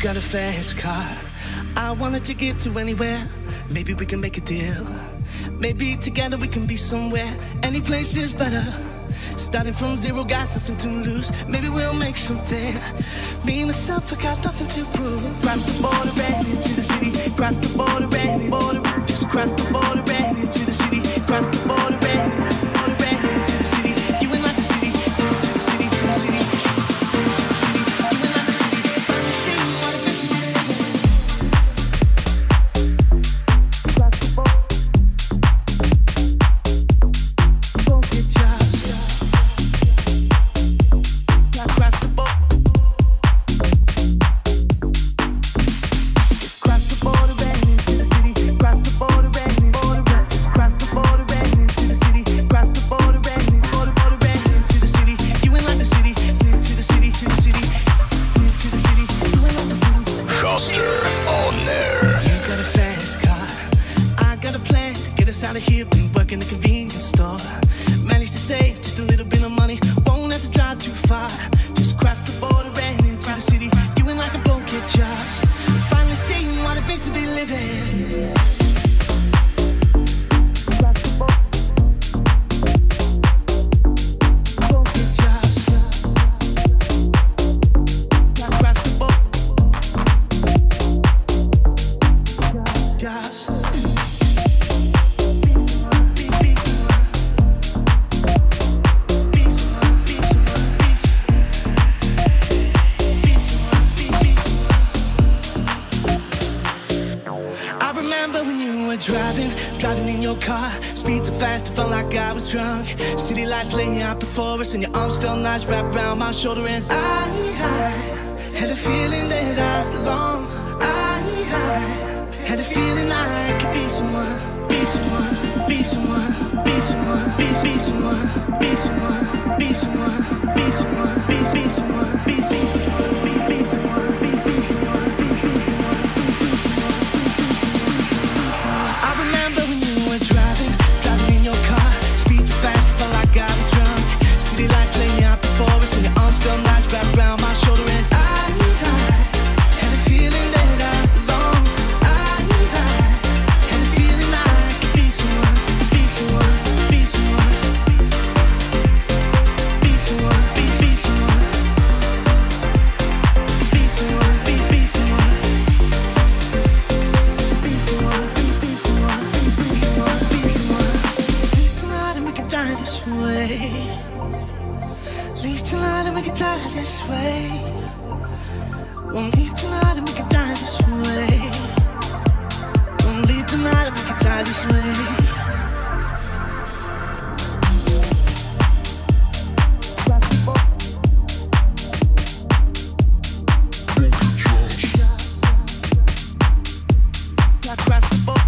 got a fast car. I wanted to get to anywhere. Maybe we can make a deal. Maybe together we can be somewhere. Any place is better. Starting from zero, got nothing to lose. Maybe we'll make something. Me, myself, I got nothing to prove. Cross the border and into the city. Cross the border and border. Just cross the border and into the city. Cross the border and into the city. You ain't like the city. Into the city, to the city. Into the city. You ain't like the city. Finally see what it is. Cross the border. Don't get jobs. Cross the border. Cross the border and into the city. Cross the border and border. Cross the border and into the city. Cross the border and border and into the city. You ain't like the city. Into the city, to the city. Into the city. You ain't like the city. Schuster on there. You got a fast car. I got a plan to get us out of here. Been working the convenience store. Managed to save just a little bit of money. Won't have to drive too far. Just cross the border and into the city. You ain't like a boat, get jobs. Finally seeing what it means to be living. Cross the border. Don't get jobs. Cross the border. Jobs. I remember when you were driving in your car. Speed so fast, it felt like I was drunk. City lights laying out before us, and your arms felt nice wrapped around my shoulder. And I had a feeling that I belong. I had a feeling I could be someone, be someone, be someone, be someone, be someone, be someone, be someone, be someone, be someone, be someone, be I remember when you were driving in your car. Speed so fast, it felt like I was drunk. City lights laying out before us, and your arms felt nice wrapped around my shoulder. And I had a feeling that I belong. I had a feeling I could be someone, be someone, be someone, be someone, be someone, be someone, be someone. Leave tonight and we can die this way. Won't leave tonight and we can die this way. Won't leave tonight and we can die this way. Cross the border.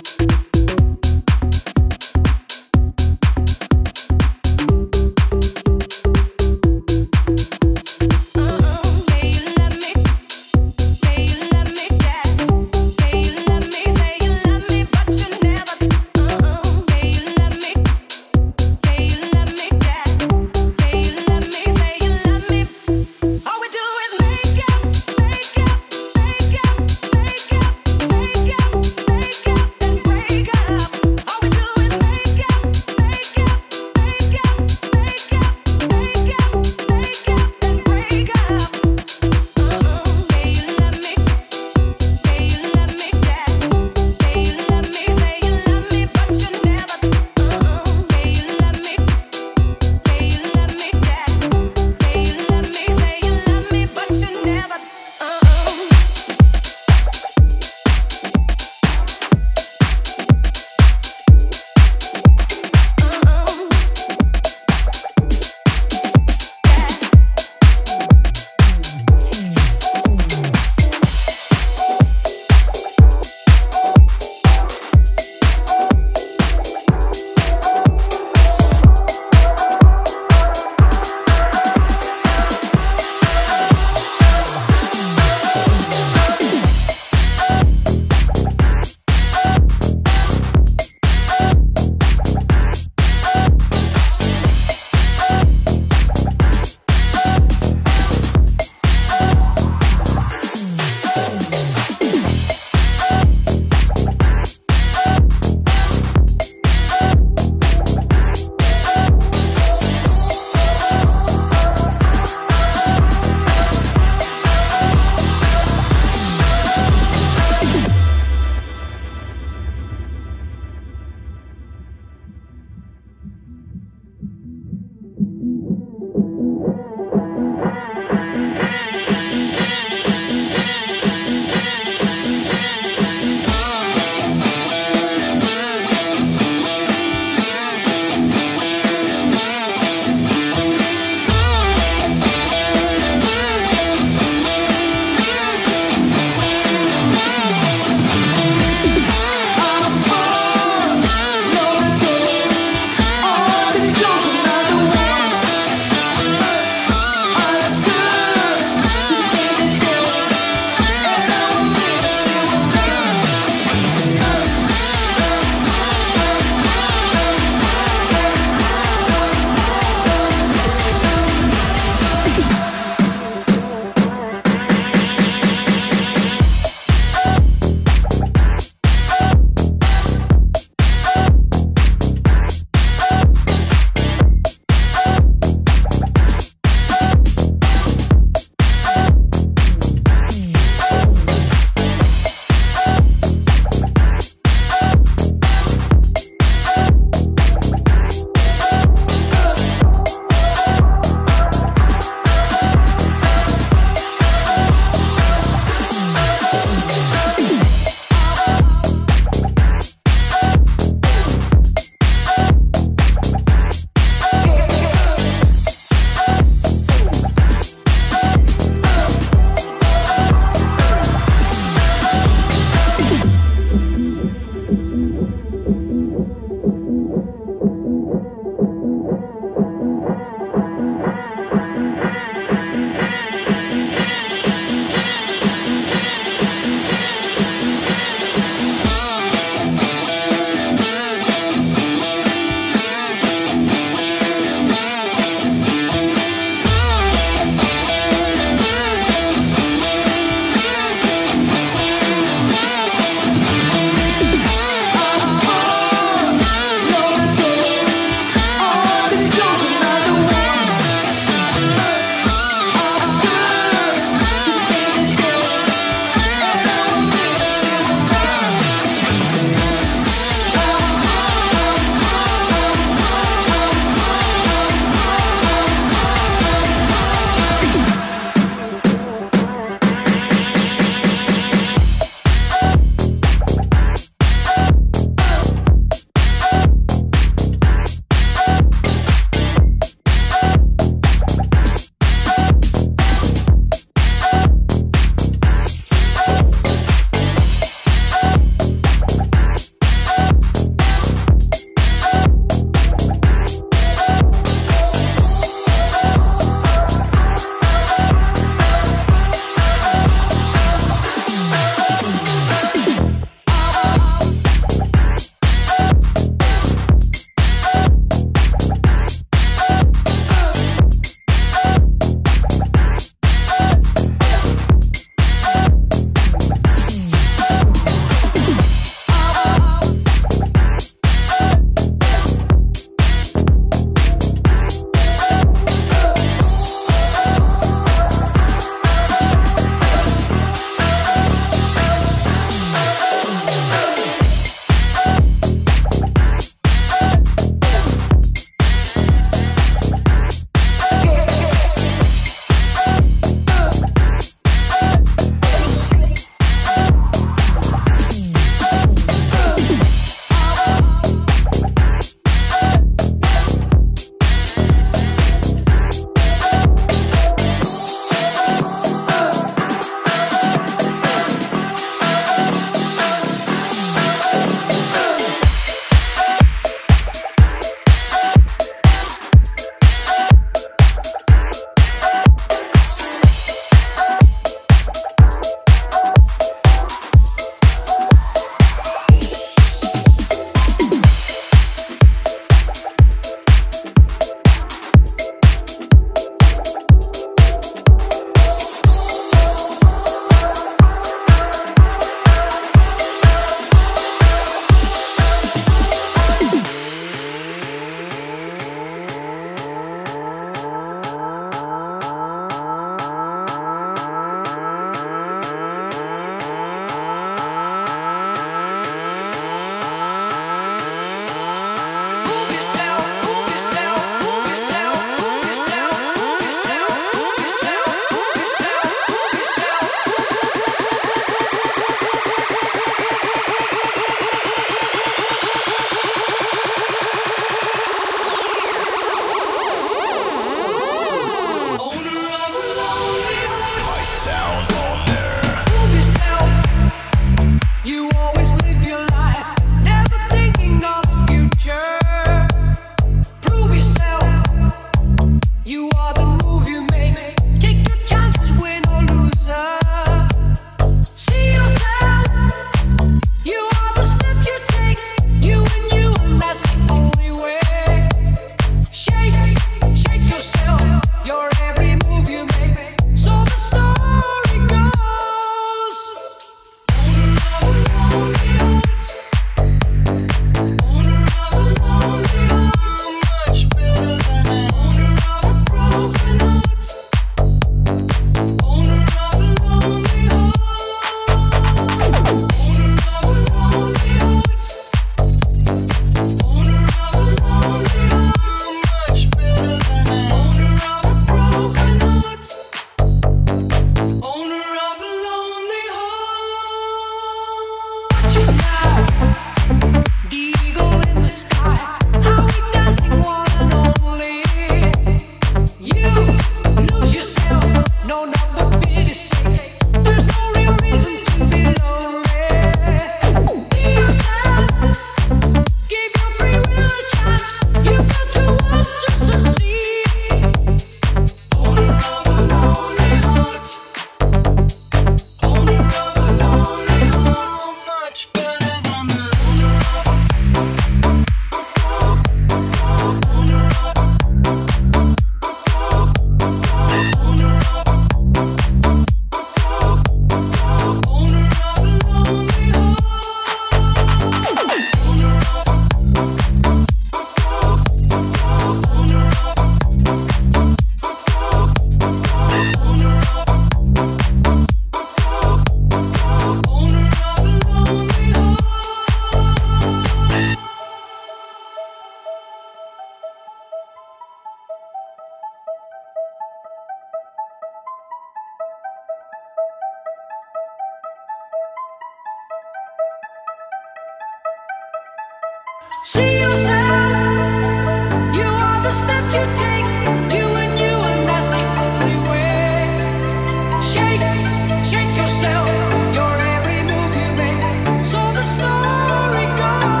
See yourself. You are the steps you take. You and that's the only way. Shake, shake yourself. Your every move you make. So the story goes.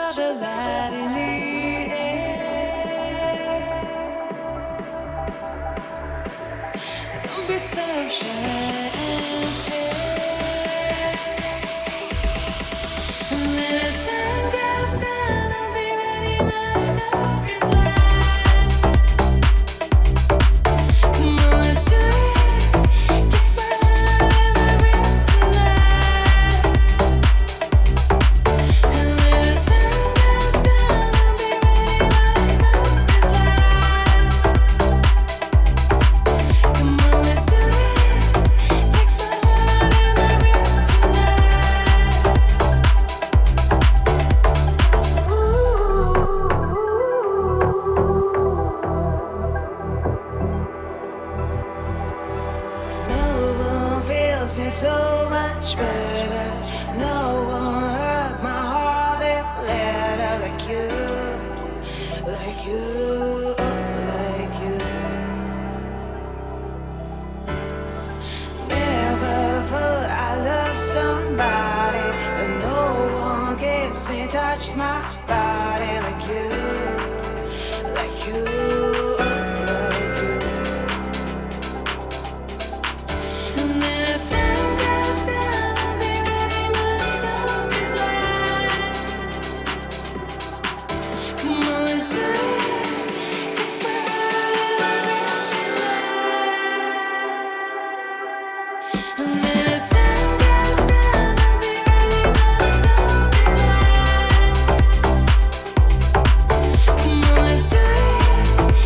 the light in the air. Don't be so shy and scared. And when the sun goes down, I'll be ready, my story. Come on, let's do it. Take my hand and my breath tonight. And when the sun goes down, I'll be ready, my story's live. Come on, let's do it. Take my hand and my breath No one feels me so much better. No one hurt my heart that letter like you, like you, like you. Never thought I loved somebody, but no one gets me, touched my body like you, like you, like you. And then the sun goes down, I'll be ready, my story's live. Come on, let's do it. Take my hand and my breath tonight. And then the sun goes down, I'll be ready, my story's live. Come on, let's do it.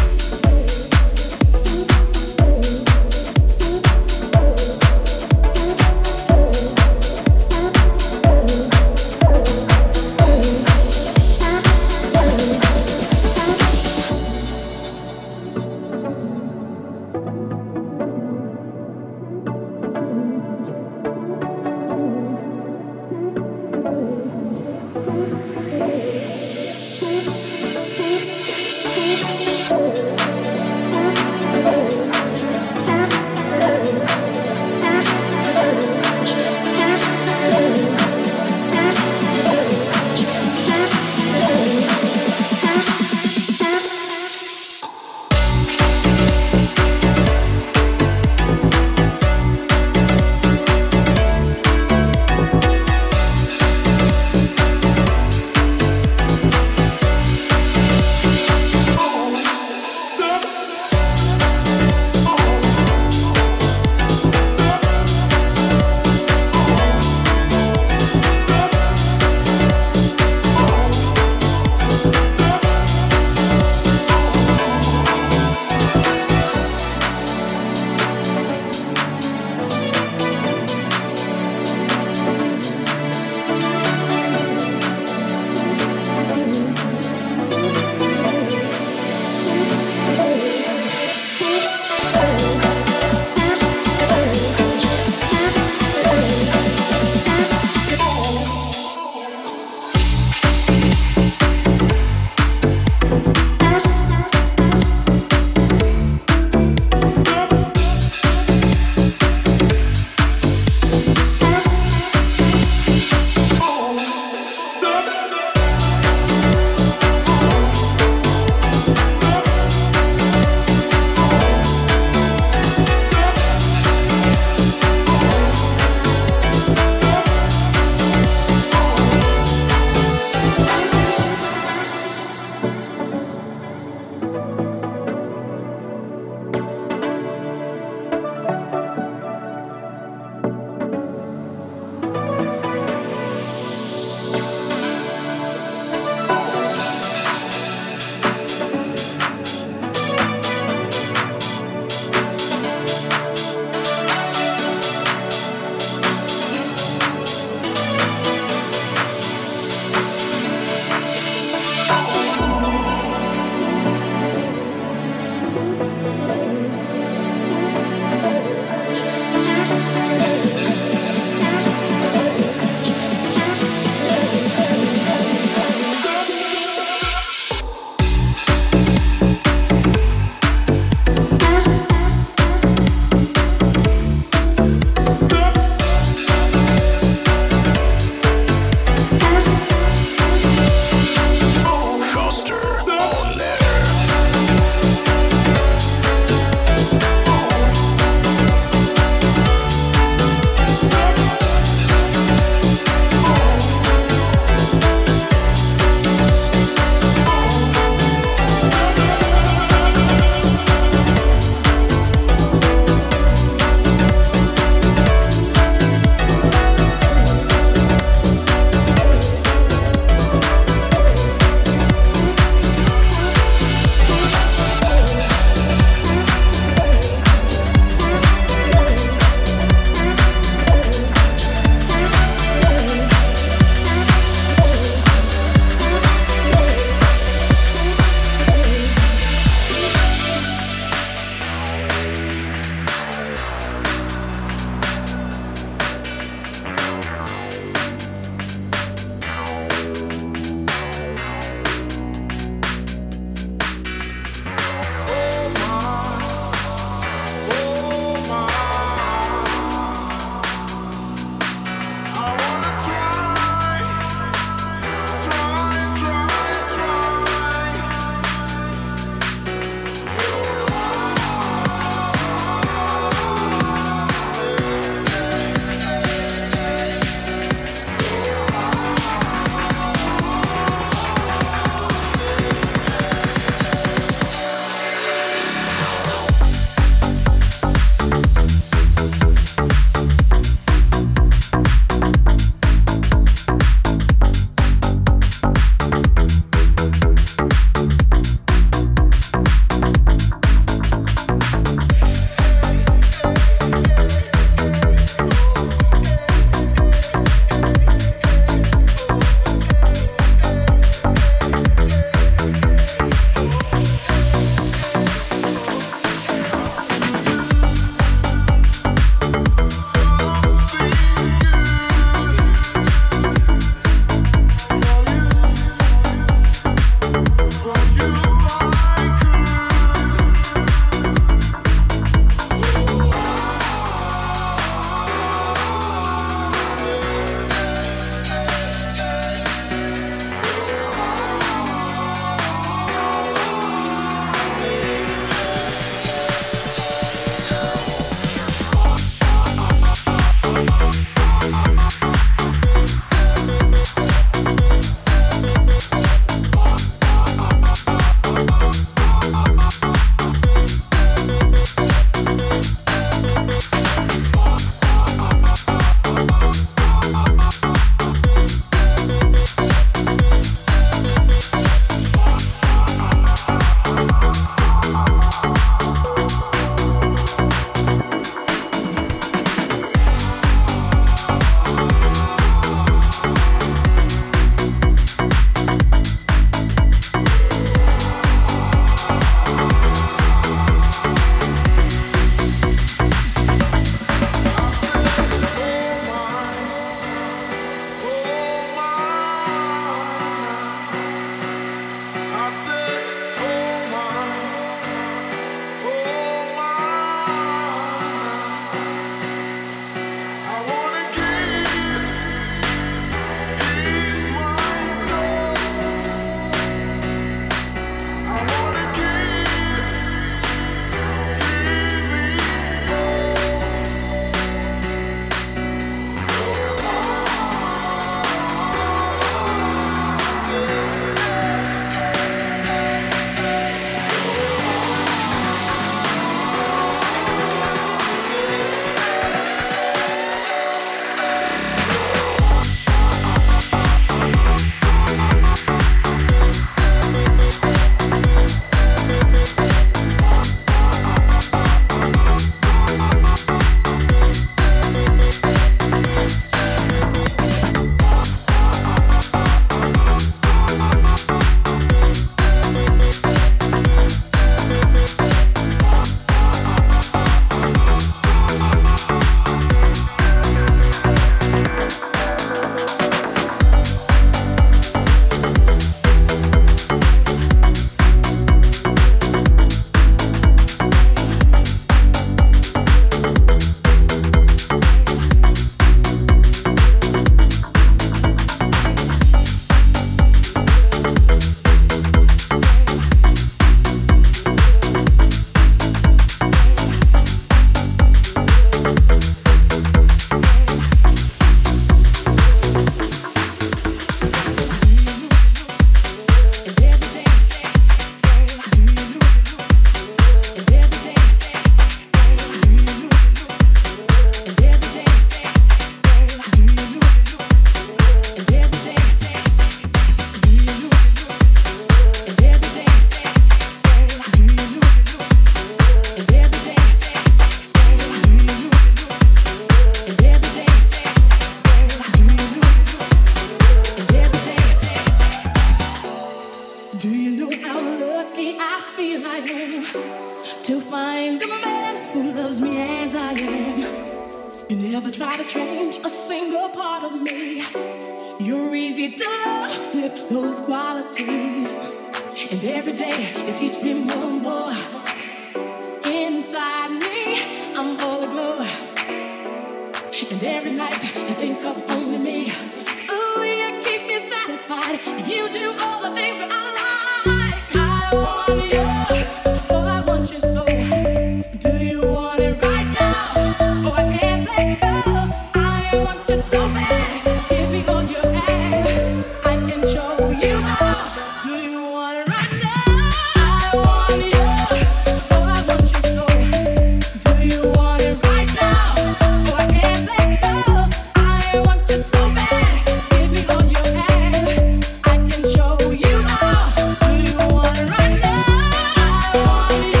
never try to change a single part of me. You're easy to love with those qualities. And every day you teach me more and more. Inside me, I'm all aglow. And every night you think of only me. Ooh, you keep me satisfied. You do all the things that I like. I want you, oh, I want you so. Do you want it right now? Oh, I can't let go. I want you so bad. Give me all you have. I can show you how. Do you want it right now? I want you, oh, I want you so. Do you want it right now? Oh, I can't let go. I want you so bad. Give me all you have. I can show you how. Do you want it right now? I want you.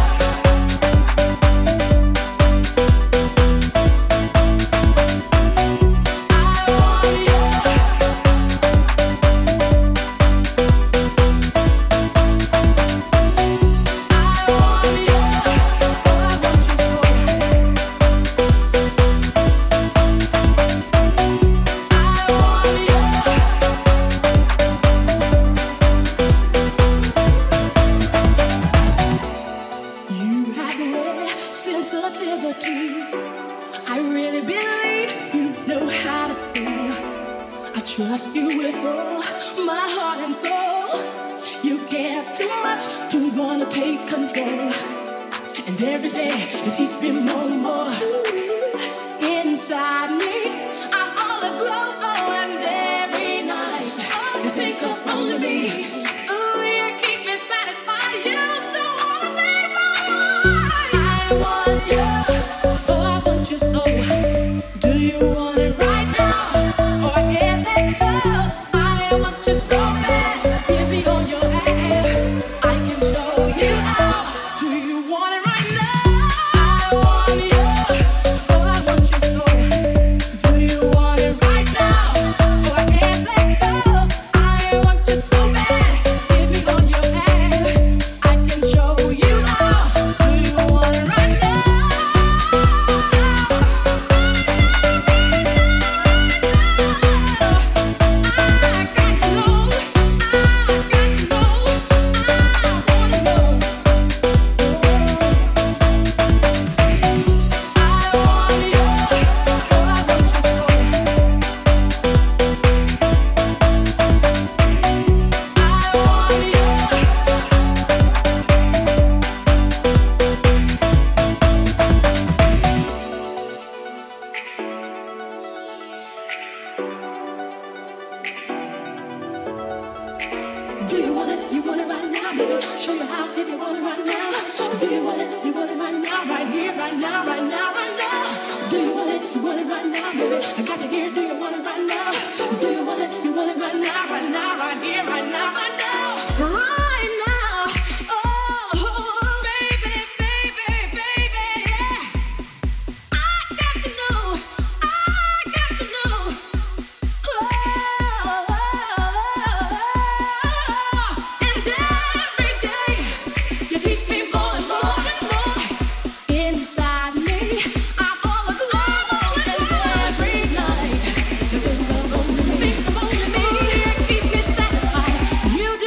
You have rare sensitivity. I really believe you know how to feel. I trust you with all my heart and soul. You care too much to wanna take control. And every day you teach me more and more. Inside me, I'm all aglow, and every night you think of only me. Ooh, you keep me satisfied. You do all the things I like. I want you, oh, I want you so. Do you want it right now? Oh, I can't let go. I want you so bad. Give me all you have. I can show you how. Do you want it right now? I want you, oh, I want you so. Do you want it right now? Oh, I can't let go. I want you so bad. Give me all you have. I can show you how. Do you want it right now? Do you want it? You want it right now, baby. Show you how if you want it right now. Do you want it? You want it right now, right here, right now, right now, right now. Do you want it? You want it right now, baby. I got you here. Do you want it right now? Do you want it? You want it right now, right now, right here, right now, right now, right now. Oh, baby, baby, baby, yeah. I got to know. I got to know. And every day you teach me more and more and more. Inside me, I'm all aglow, and every night you think of only me. You keep me satisfied. You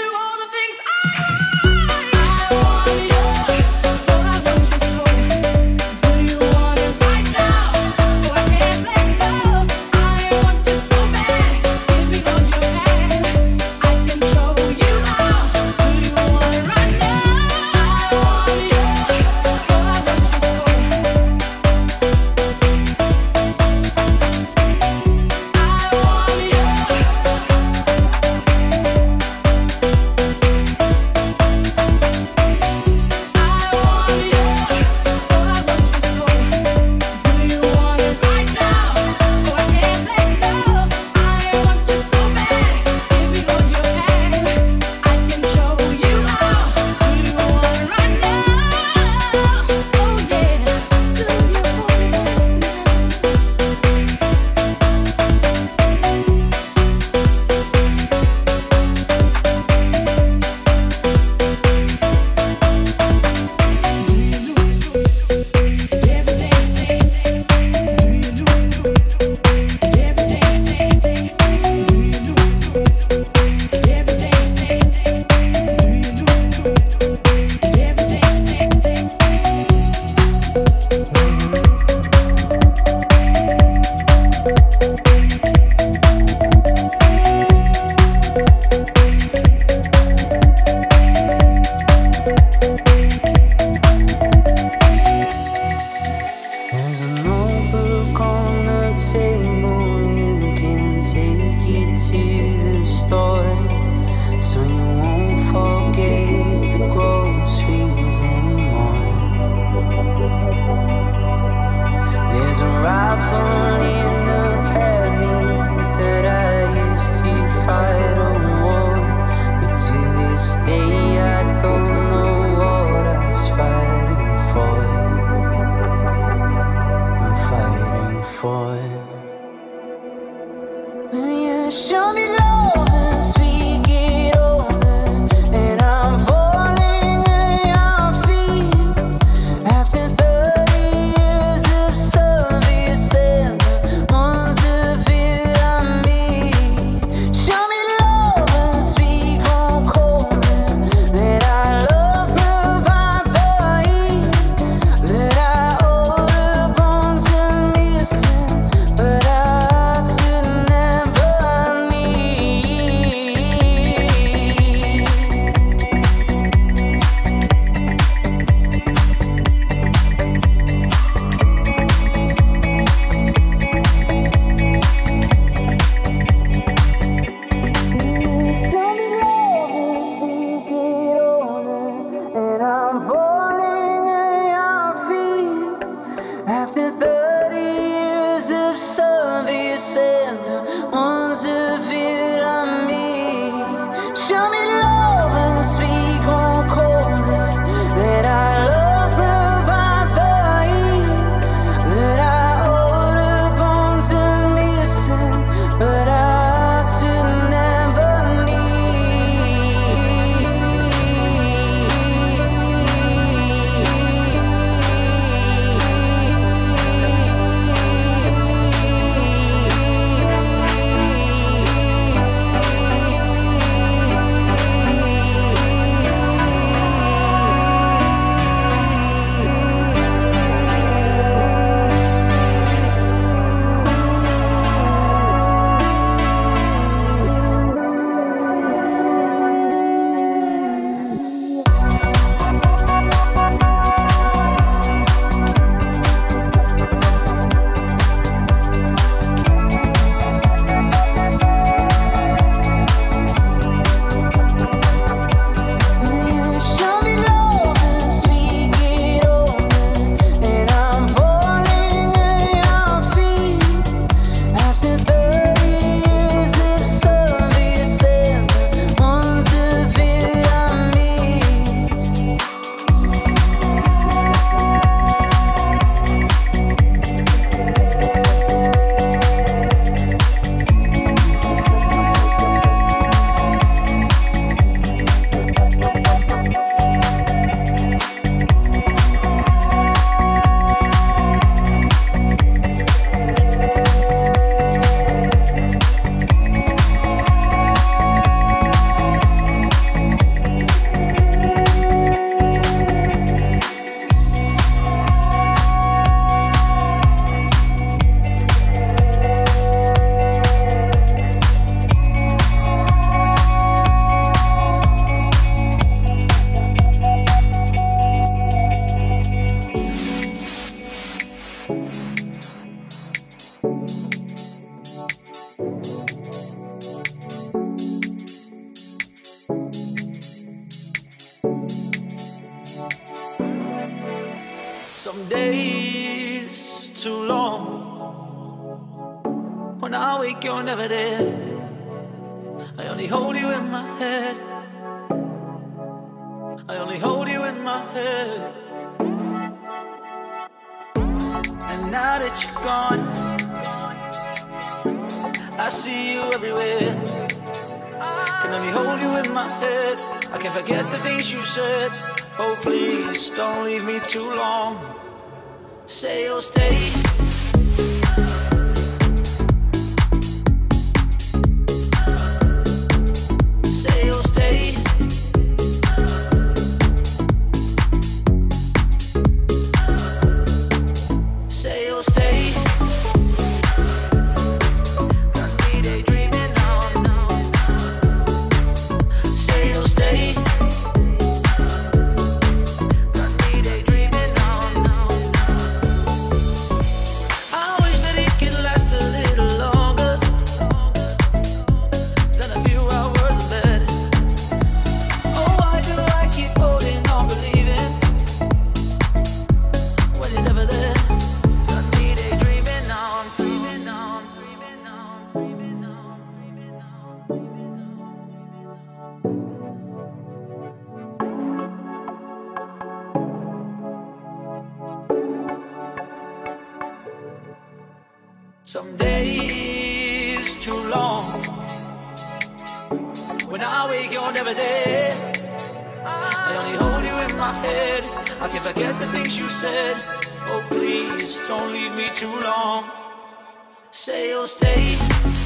Some days too long. When I wake, you're never there. I only hold you in my head. I only hold you in my head. And now that you're gone, I see you everywhere. Can only hold you in my head. I can't forget the things you said. Oh please, don't leave me too long. Say you'll stay. Say you'll stay. Say you'll stay. Some days too long. When I wake, you're never there. I only hold you in my head. I can't forget the things you said. Oh please, don't leave me too long. Say you'll stay.